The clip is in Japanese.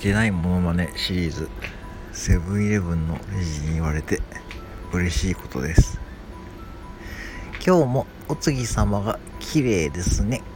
てないモノマネシリーズ、セブンイレブンのレジに言われて嬉しいことです。今日もお次様が綺麗ですね。